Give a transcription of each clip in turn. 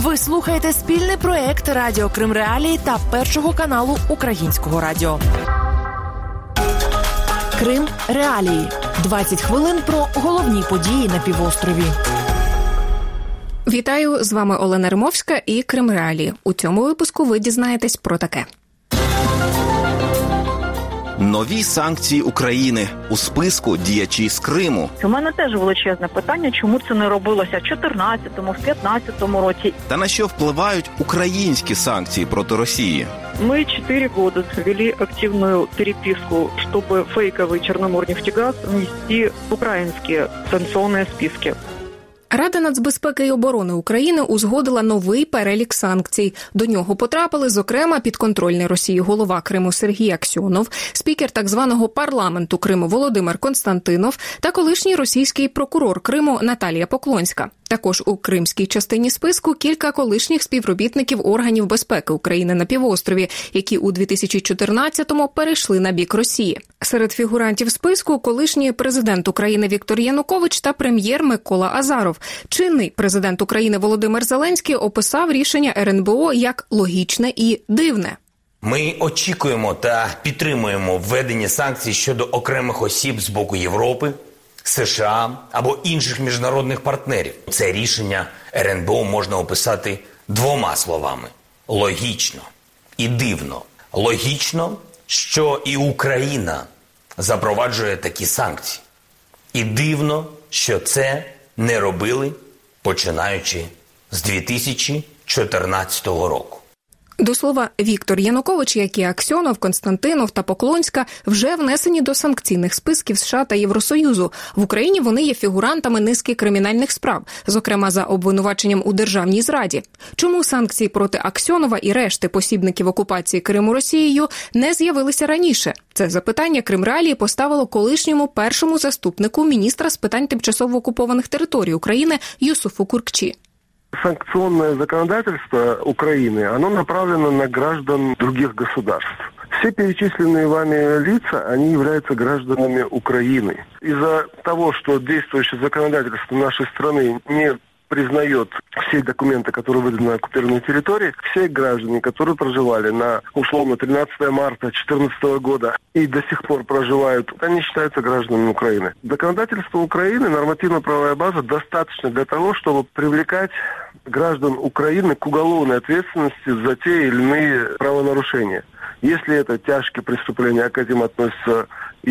Ви слухаєте спільний проект Радіо Крим Реалії та Першого каналу Українського радіо. Крим Реалії. 20 хвилин про головні події на півострові. Вітаю, з вами Олена Римовська і Крим Реалії. У цьому випуску ви дізнаєтесь про таке. Нові санкції України. У списку діячі з Криму. У мене теж величезне питання, чому це не робилося в 14-му, в 15-му році. Та на що впливають українські санкції проти Росії? Мы 4 года вели активную переписку, чтобы фейковый Черноморнефтегаз внести в украинские санкционные списки. Рада нацбезпеки і оборони України узгодила новий перелік санкцій. До нього потрапили, зокрема, підконтрольний Росії голова Криму Сергій Аксьонов, спікер так званого парламенту Криму Володимир Константинов та колишній російський прокурор Криму Наталія Поклонська. Також у кримській частині списку кілька колишніх співробітників органів безпеки України на півострові, які у 2014-му перейшли на бік Росії. Серед фігурантів списку колишній президент України Віктор Янукович та прем'єр Микола Азаров. Чинний президент України Володимир Зеленський описав рішення РНБО як логічне і дивне. Ми очікуємо та підтримуємо введення санкцій щодо окремих осіб з боку Європи, США або інших міжнародних партнерів. Це рішення РНБО можна описати двома словами – логічно і дивно. Логічно, що і Україна запроваджує такі санкції. І дивно, що це не робили, починаючи з 2014 року. До слова, Віктор Янукович, як і Аксьонов, Константинов та Поклонська вже внесені до санкційних списків США та Євросоюзу. В Україні вони є фігурантами низки кримінальних справ, зокрема за обвинуваченням у державній зраді. Чому санкції проти Аксьонова і решти посібників окупації Криму Росією не з'явилися раніше? Це запитання Крим Реалії поставило колишньому першому заступнику міністра з питань тимчасово окупованих територій України Юсуфу Куркчі. Санкционное законодательство Украины, оно направлено на граждан других государств. Все перечисленные вами лица, они являются гражданами Украины. Из-за того, что действующее законодательство нашей страны не признает все документы, которые выданы на оккупированной территории, все граждане, которые проживали на, условно, 13 марта 2014 года и до сих пор проживают, они считаются гражданами Украины. Законодательство Украины, нормативно-правовая база достаточно для того, чтобы привлекать граждан Украины к уголовной ответственности за те или иные правонарушения. Если это тяжкие преступления, к этим относятся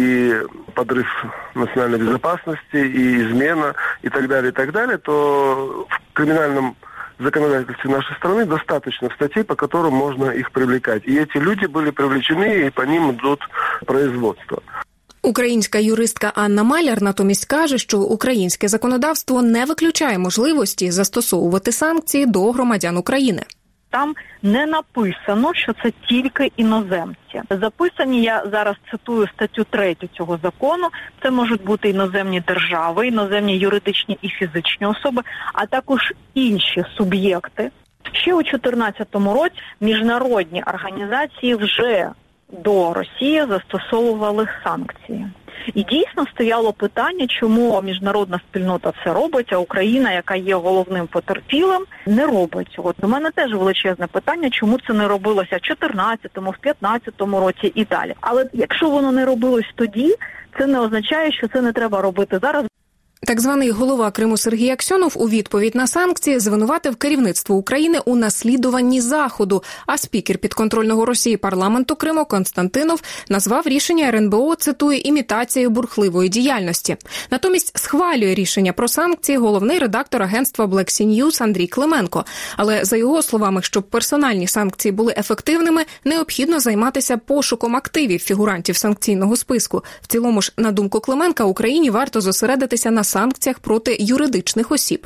и подрыв национальной безопасности, и измена, и так далее, то в криминальном законодательстве нашей страны достаточно статей, по которым можно их привлекать. И эти люди были привлечены, и по ним идут производства. Українська юристка Анна Маляр натомість каже, що українське законодавство не виключає можливості застосовувати санкції до громадян України. Там не написано, що це тільки іноземці. Записані, я зараз цитую статтю 3 цього закону, це можуть бути іноземні держави, іноземні юридичні і фізичні особи, а також інші суб'єкти. Ще у 2014 році міжнародні організації вже до Росії застосовували санкції. І дійсно стояло питання, чому міжнародна спільнота це робить, а Україна, яка є головним потерпілим, не робить цього. У мене теж величезне питання, чому це не робилося в 14-му, в 15-му році і далі. Але якщо воно не робилось тоді, це не означає, що це не треба робити зараз. Так званий голова Криму Сергій Аксьонов у відповідь на санкції звинуватив керівництво України у наслідуванні Заходу, а спікер підконтрольного Росії парламенту Криму Константинов назвав рішення РНБО, цитую, імітацією бурхливої діяльності. Натомість схвалює рішення про санкції головний редактор агентства Black Sea News Андрій Клименко. Але за його словами, щоб персональні санкції були ефективними, необхідно займатися пошуком активів фігурантів санкційного списку. В цілому ж, на думку Клименка, Україні варто зосередитися на санкціях проти юридичних осіб.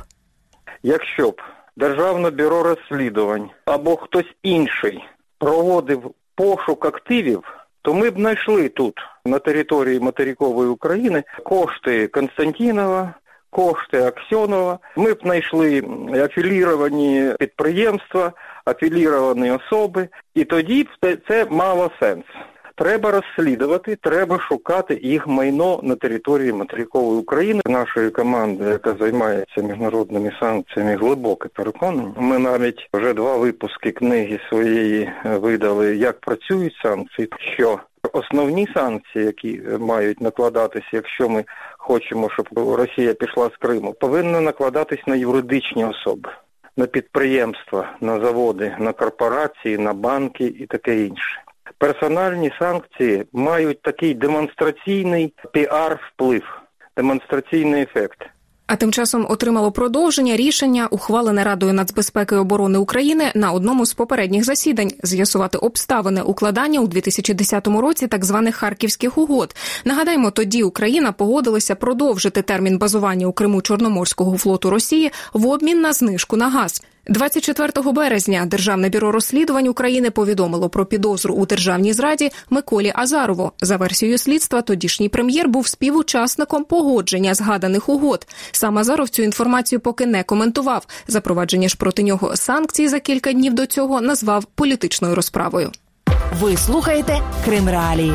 Якщо б Державне бюро розслідувань або хтось інший проводив пошук активів, то ми б знайшли тут, на території материкової України, кошти Константинова, кошти Аксьонова. Ми б знайшли афіліровані підприємства, афіліровані особи, і тоді б це мало сенс. Треба розслідувати, треба шукати їх майно на території материкової України. Нашої команди, яка займається міжнародними санкціями, глибоке переконання. Ми навіть вже 2 випуски книги своєї видали, як працюють санкції, що основні санкції, які мають накладатися, якщо ми хочемо, щоб Росія пішла з Криму, повинні накладатись на юридичні особи, на підприємства, на заводи, на корпорації, на банки і таке інше. Персональні санкції мають такий демонстраційний піар-вплив, демонстраційний ефект. А тим часом отримало продовження рішення, ухвалене Радою нацбезпеки і оборони України на одному з попередніх засідань – з'ясувати обставини укладання у 2010 році так званих Харківських угод. Нагадаємо, тоді Україна погодилася продовжити термін базування у Криму Чорноморського флоту Росії в обмін на знижку на газ. 24 березня Державне бюро розслідувань України повідомило про підозру у державній зраді Миколі Азарову. За версією слідства, тодішній прем'єр був співучасником погодження згаданих угод. Сам Азаров цю інформацію поки не коментував. Запровадження ж проти нього санкцій за кілька днів до цього назвав політичною розправою. Ви слухаєте Крим Реалії.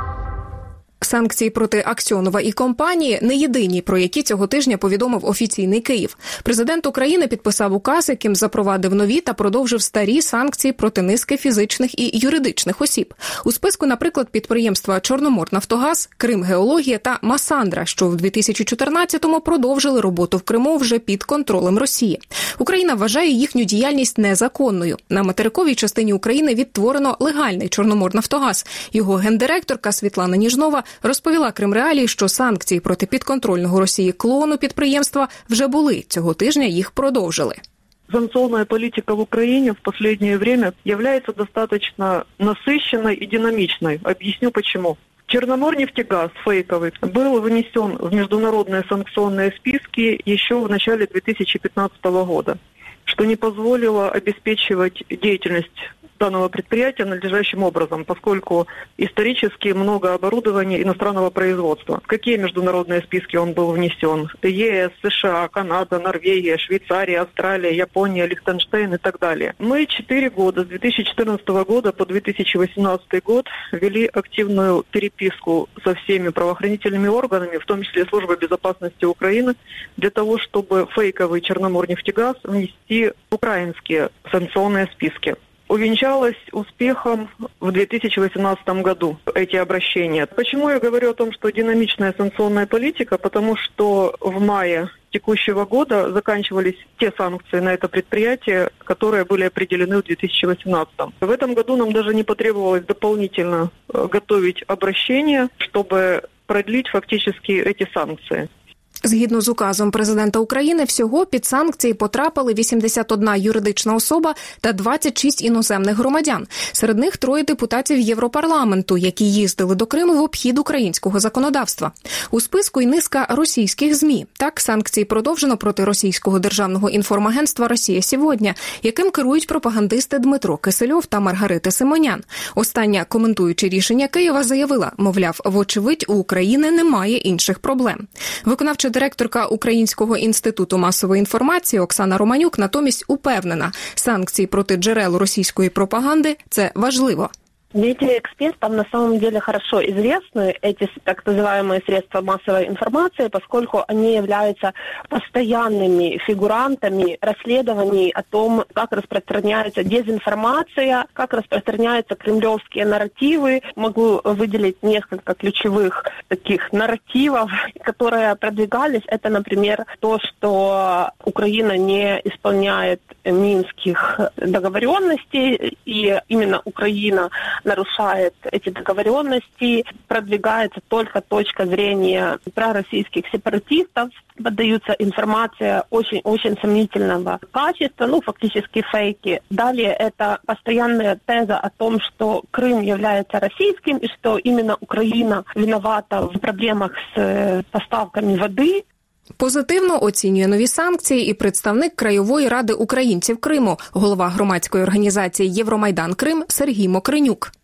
Санкції проти Аксьонова і компанії не єдині, про які цього тижня повідомив офіційний Київ. Президент України підписав указ, яким запровадив нові та продовжив старі санкції проти низки фізичних і юридичних осіб. У списку, наприклад, підприємства «Чорноморнафтогаз», «Кримгеологія» та «Масандра», що в 2014-му продовжили роботу в Криму вже під контролем Росії. Україна вважає їхню діяльність незаконною. На материковій частині України відтворено легальний «Чорноморнафтогаз». Його гендиректорка Світлана Ніжнова розповіла Крим Реалії, що санкції проти підконтрольного Росії клону підприємства вже були. Цього тижня їх продовжили. Санкционная политика в Украине в последнее время является достаточно насыщенной и динамичной. Объясню почему. Черноморнефтегаз фейковый был внесен в международные санкционные списки еще в начале 2015 года, что не позволило обеспечивать деятельность данного предприятия надлежащим образом, поскольку исторически много оборудования иностранного производства. В какие международные списки он был внесен? ЕС, США, Канада, Норвегия, Швейцария, Австралия, Япония, Лихтенштейн и так далее. Мы 4 года, с 2014 года по 2018 год, вели активную переписку со всеми правоохранительными органами, в том числе Службой безопасности Украины, для того, чтобы фейковый Черноморнефтегаз внести в украинские санкционные списки. Увенчалось успехом в 2018 году эти обращения. Почему я говорю о том, что динамичная санкционная политика? Потому что в мае текущего года заканчивались те санкции на это предприятие, которые были определены в 2018. В этом году нам даже не потребовалось дополнительно готовить обращение, чтобы продлить фактически эти санкции. Згідно з указом президента України, всього під санкції потрапили 81 юридична особа та 26 іноземних громадян. Серед них 3 депутатів Європарламенту, які їздили до Криму в обхід українського законодавства. У списку й низка російських ЗМІ. Так, санкції продовжено проти російського державного інформагентства «Росія сьогодні», яким керують пропагандисти Дмитро Кисельов та Маргарита Симонян. Остання, коментуючи рішення Києва, заявила, мовляв, вочевидь, у України немає інших проблем. Виконавча директорка Українського інституту масової інформації Оксана Романюк натомість упевнена, санкції проти джерел російської пропаганди – це важливо. Медиаэкспертам на самом деле хорошо известны эти так называемые средства массовой информации, поскольку они являются постоянными фигурантами расследований о том, как распространяется дезинформация, как распространяются кремлевские нарративы. Могу выделить несколько ключевых таких нарративов, которые продвигались. Это, например, то, что Украина не исполняет минских договоренностей, и именно Украина нарушает эти договоренности, продвигается только точка зрения пророссийских сепаратистов, поддаются информация очень сомнительного качества, фактически фейки. Далее это постоянная теза о том, что Крым является российским и что именно Украина виновата в проблемах с поставками воды. Позитивно оцінює нові санкції і представник Краєвої ради українців Криму, голова громадської організації «Євромайдан Крим» Сергій Мокринюк.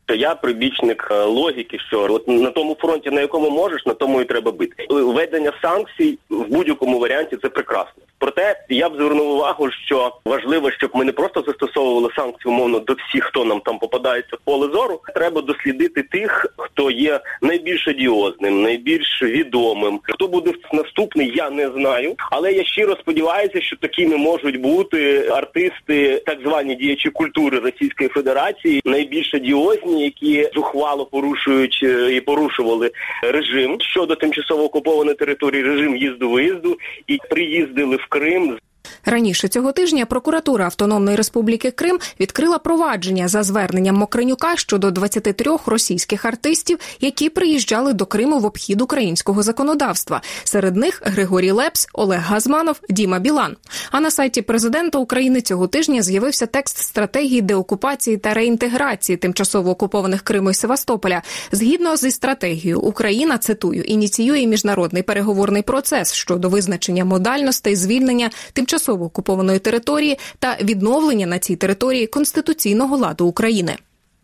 То я прибічник логіки, що от на тому фронті, на якому можеш, на тому і треба бити. Введення санкцій в будь-якому варіанті – це прекрасно. Проте я б звернув увагу, що важливо, щоб ми не просто застосовували санкції умовно до всіх, хто нам там попадається в поле зору. Треба дослідити тих, хто є найбільш одіозним, найбільш відомим. Хто буде наступний, я не знаю. Але я щиро сподіваюся, що такими можуть бути артисти, так звані діячі культури Російської Федерації, найбільш одіозні, які зухвало порушують і порушували режим щодо тимчасово окупованої території, режим їзду-виїзду, і приїздили в Крим. Раніше цього тижня прокуратура Автономної Республіки Крим відкрила провадження за зверненням Мокренюка щодо 23 російських артистів, які приїжджали до Криму в обхід українського законодавства. Серед них Григорій Лепс, Олег Газманов, Діма Білан. А на сайті президента України цього тижня з'явився текст стратегії деокупації та реінтеграції тимчасово окупованих Криму і Севастополя. Згідно зі стратегією, Україна, цитую, ініціює міжнародний переговорний процес щодо визначення модальностей звільнення тимчасово окупованої території та відновлення на цій території конституційного ладу України.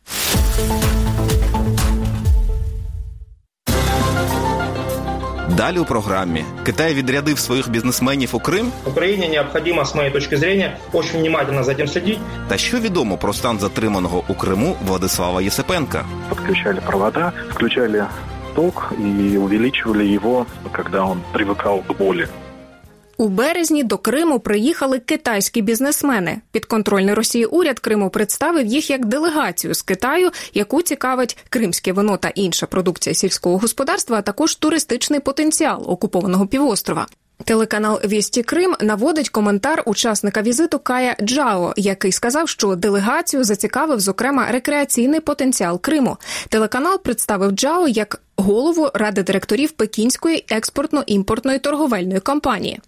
Далі у програмі. Китай відрядив своїх бізнесменів у Крим. Україні необхідно, з моєї точки зору, дуже внимательно за цим слідити. Та що відомо про стан затриманого у Криму Владислава Єсипенка? Подключали провода, включали ток і увеличивали його, коли він привикав до болі. У березні до Криму приїхали китайські бізнесмени. Підконтрольний Росії уряд Криму представив їх як делегацію з Китаю, яку цікавить кримське вино та інша продукція сільського господарства, а також туристичний потенціал окупованого півострова. Телеканал «Вісті Крим» наводить коментар учасника візиту Кая Джао, який сказав, що делегацію зацікавив, зокрема, рекреаційний потенціал Криму. Телеканал представив Джао як голову ради директорів Пекінської експортно-імпортної торговельної компанії.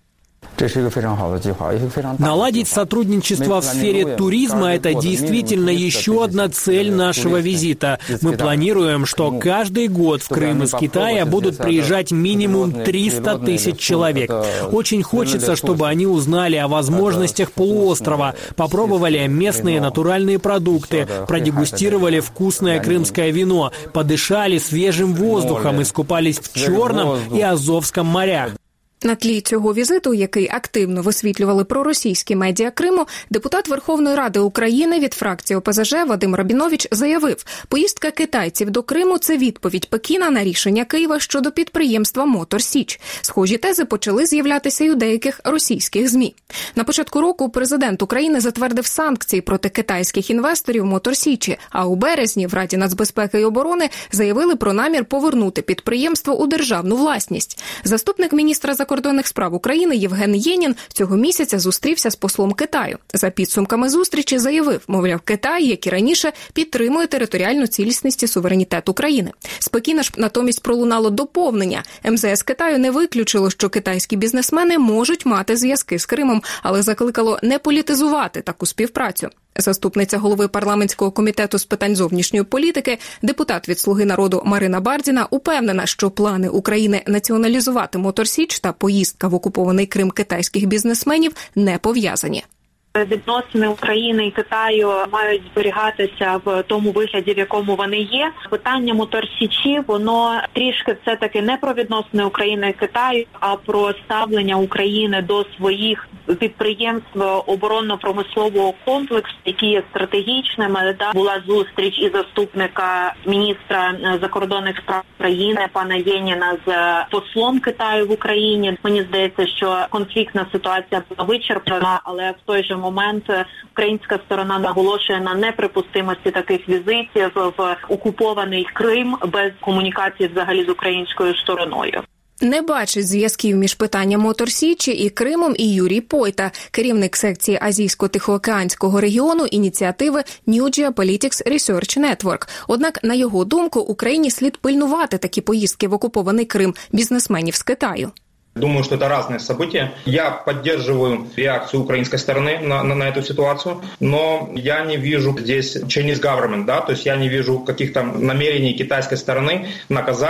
Наладить сотрудничество в сфере туризма – это действительно еще одна цель нашего визита. Мы планируем, что каждый год в Крым из Китая будут приезжать минимум 300 тысяч человек. Очень хочется, чтобы они узнали о возможностях полуострова, попробовали местные натуральные продукты, продегустировали вкусное крымское вино, подышали свежим воздухом, искупались в Черном и Азовском морях. На тлі цього візиту, який активно висвітлювали проросійські медіа Криму, депутат Верховної Ради України від фракції ОПЗЖ Вадим Рабінович заявив, поїздка китайців до Криму – це відповідь Пекіна на рішення Києва щодо підприємства «Мотор Січ». Схожі тези почали з'являтися й у деяких російських ЗМІ. На початку року президент України затвердив санкції проти китайських інвесторів «Мотор Січі», а у березні в Раді нацбезпеки і оборони заявили про намір повернути підприємство у державну власність. Заступник міністра закордонних справ України Євген Єнін цього місяця зустрівся з послом Китаю. За підсумками зустрічі заявив, мовляв, Китай, як і раніше, підтримує територіальну цілісність і суверенітет України. З Пекіна ж натомість пролунало доповнення. МЗС Китаю не виключило, що китайські бізнесмени можуть мати зв'язки з Кримом, але закликало не політизувати таку співпрацю. Заступниця голови парламентського комітету з питань зовнішньої політики, депутат від «Слуги народу» Марина Бардіна упевнена, що плани України націоналізувати «Мотор Січ» та поїздка в окупований Крим китайських бізнесменів не пов'язані. Відносини України і Китаю мають зберігатися в тому вигляді, в якому вони є. Питання «Мотор Січі», воно трішки все-таки не про відносини України і Китаю, а про ставлення України до своїх підприємств оборонно-промислового комплексу, які є стратегічними. Була зустріч і заступника міністра закордонних справ України пана Єніна з послом Китаю в Україні. Мені здається, що конфліктна ситуація була вичерпана, але в той же момент українська сторона наголошує на неприпустимості таких візитів в окупований Крим без комунікації взагалі з українською стороною. Не бачить зв'язків між питанням «Мотор Січі» і Кримом і Юрій Пойта, керівник секції Азійсько-Тихоокеанського регіону ініціативи New Geopolitics Research Network. Однак, на його думку, Україні слід пильнувати такі поїздки в окупований Крим бізнесменів з Китаю. Думаю, что это разные события. Я поддерживаю реакцию украинской стороны на эту ситуацию, но я не вижу здесь Chinese government, да, то есть я не вижу каких-то намерений китайской стороны наказать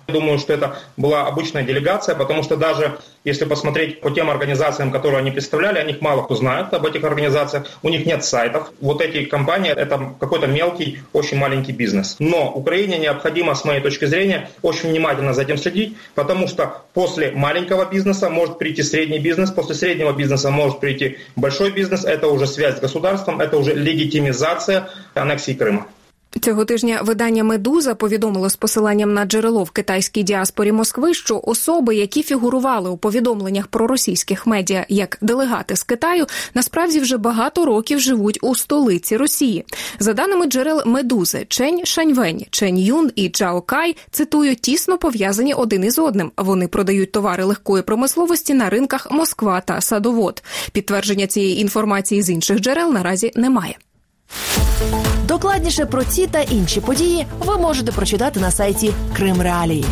Думаю, что это была обычная делегация, потому что даже если посмотреть по тем организациям, которые они представляли, о них мало кто знает, об этих организациях, у них нет сайтов. Вот эти компании – это какой-то мелкий, очень маленький бизнес. Но Украине необходимо, с моей точки зрения, очень внимательно за этим следить, потому что после маленького бизнеса может прийти средний бизнес, после среднего бизнеса может прийти большой бизнес, это уже связь с государством, это уже легитимизация аннексии Крыма. Цього тижня видання «Медуза» повідомило з посиланням на джерело в китайській діаспорі Москви, що особи, які фігурували у повідомленнях проросійських медіа як делегати з Китаю, насправді вже багато років живуть у столиці Росії. За даними джерел «Медузи», Чен Шаньвень, Чен Юн і Чао Кай, цитую, тісно пов'язані один із одним. Вони продають товари легкої промисловості на ринках Москва та Садовод. Підтвердження цієї інформації з інших джерел наразі немає. Докладніше про ці та інші події ви можете прочитати на сайті Крим Реалії.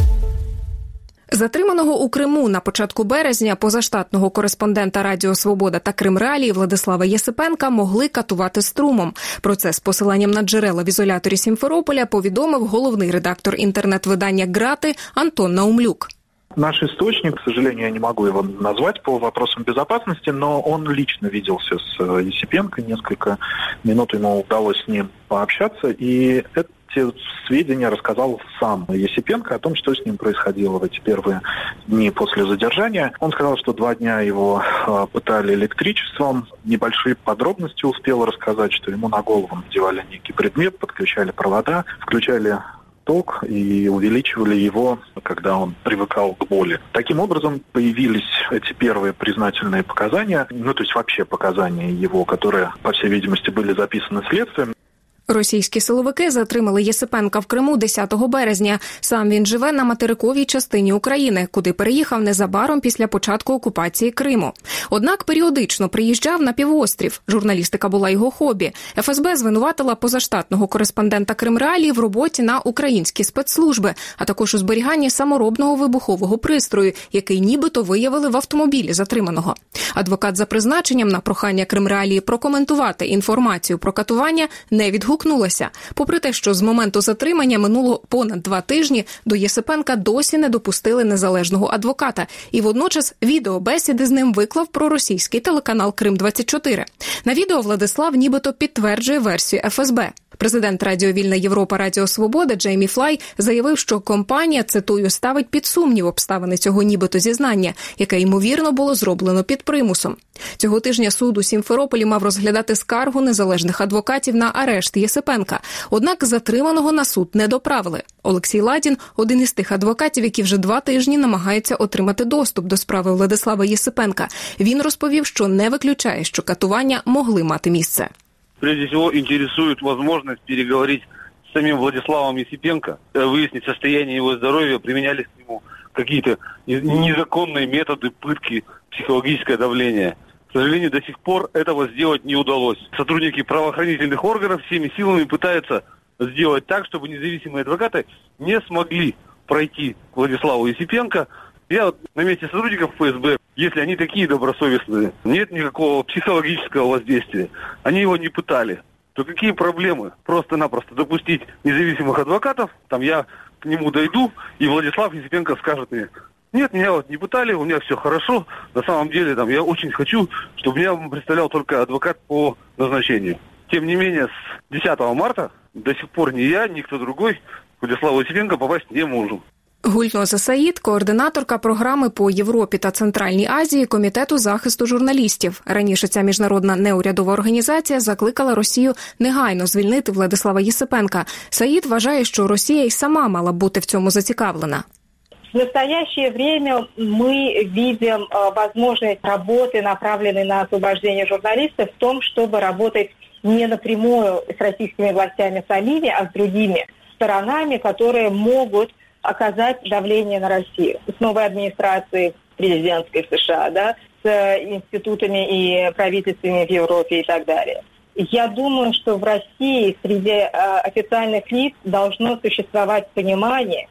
Затриманого у Криму на початку березня позаштатного кореспондента Радіо Свобода та Крим Реалії Владислава Єсипенка могли катувати струмом. Про це з посиланням на джерела в ізоляторі Сімферополя повідомив головний редактор інтернет-видання «Грати» Антон Наумлюк. Наш источник, к сожалению, я не могу его назвать по вопросам безопасности, но он лично виделся с Єсипенко, несколько минут ему удалось с ним пообщаться, и эти сведения рассказал сам Єсипенко о том, что с ним происходило в эти первые дни после задержания. Он сказал, что 2 дня его пытали электричеством, небольшие подробности успел рассказать, что ему на голову надевали некий предмет, подключали провода, включали ток и увеличивали его, когда он привыкал к боли. Таким образом, появились эти первые признательные показания, то есть вообще показания его, которые, по всей видимости, были записаны следствием. Російські силовики затримали Єсипенка в Криму 10 березня. Сам він живе на материковій частині України, куди переїхав незабаром після початку окупації Криму. Однак періодично приїжджав на півострів. Журналістика була його хобі. ФСБ звинуватила позаштатного кореспондента Крим Реалії в роботі на українські спецслужби, а також у зберіганні саморобного вибухового пристрою, який нібито виявили в автомобілі затриманого. Адвокат за призначенням на прохання Крим Реалії прокоментувати інформацію про катування не відгукнувся. Попри те, що з моменту затримання минуло понад 2 тижні, до Єсипенка досі не допустили незалежного адвоката. І водночас відеобесіди з ним виклав проросійський телеканал «Крим-24». На відео Владислав нібито підтверджує версію ФСБ. Президент Радіо Вільна Європа Радіо Свобода Джеймі Флай заявив, що компанія, цитую, ставить під сумнів обставини цього нібито зізнання, яке, ймовірно, було зроблено під примусом. Цього тижня суд у Сімферополі мав розглядати скаргу незалежних адвокатів на арешт Єсипенка. Однак затриманого на суд не доправили. Олексій Ладін – один із тих адвокатів, які вже 2 тижні намагаються отримати доступ до справи Владислава Єсипенка. Він розповів, що не виключає, що катування могли мати місце. Прежде всего, интересует возможность переговорить с самим Владиславом Єсипенко, выяснить состояние его здоровья, применялись к нему какие-то незаконные методы пытки, психологическое давление. К сожалению, до сих пор этого сделать не удалось. Сотрудники правоохранительных органов всеми силами пытаются сделать так, чтобы независимые адвокаты не смогли пройти к Владиславу Єсипенко. Я на месте сотрудников ФСБ, если они такие добросовестные, нет никакого психологического воздействия, они его не пытали, то какие проблемы? Просто-напросто допустить независимых адвокатов, там я к нему дойду, и Владислав Єсипенко скажет мне: нет, меня вот не пытали, у меня все хорошо, на самом деле там я очень хочу, чтобы меня представлял только адвокат по назначению. Тем не менее, с 10 марта до сих пор ни я, ни кто другой к Владиславу Єсипенко попасть не можем. Гульноза Саїд – координаторка програми по Європі та Центральній Азії Комітету захисту журналістів. Раніше ця міжнародна неурядова організація закликала Росію негайно звільнити Владислава Єсипенка. Саїд вважає, що Росія й сама мала бути в цьому зацікавлена. В настоящее время мы видим возможность работы, направленной на освобождение журналистов, в том, чтобы работать не напрямую с российскими властями самими, а с другими сторонами, которые могут оказать давление на Россию. С новой администрацией президентской в США, да, с институтами и правительствами в Европе и так далее. Я думаю, что в России среди официальных лиц должно существовать понимание,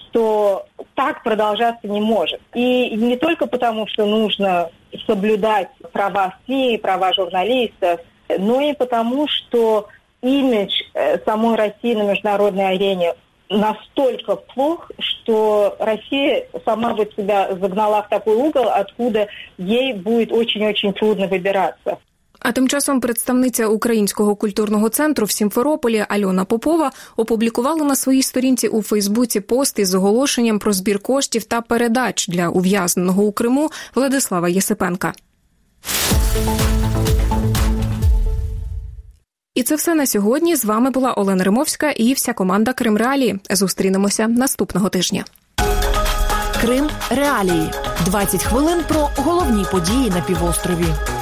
что так продолжаться не может. И не только потому, что нужно соблюдать права СМИ, права журналистов, но и потому, что имидж самой России на международной арене настолько плох, что Россия сама вот себя загнала в такой угол, откуда ей будет очень-очень трудно выбираться. А тим часом представниця Українського культурного центру в Сімферополі Альона Попова опублікувала на своїй сторінці у Фейсбуці пост із оголошенням про збір коштів та передач для ув'язненого у Криму Владислава Єсипенка. І це все на сьогодні. З вами була Олена Римовська і вся команда Крим Реалії. Зустрінемося наступного тижня. Крим Реалії. 20 хвилин про головні події на півострові.